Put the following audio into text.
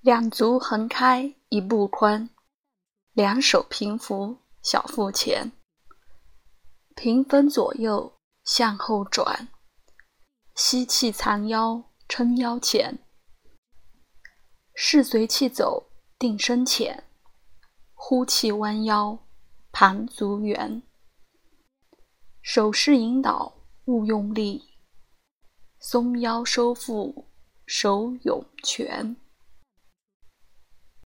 两足横开一步宽，两手平扶小腹前，平分左右向后转，吸气藏腰撑腰前，势随气走定身前，呼气弯腰盘足圆，手势引导勿用力，松腰收腹手涌泉。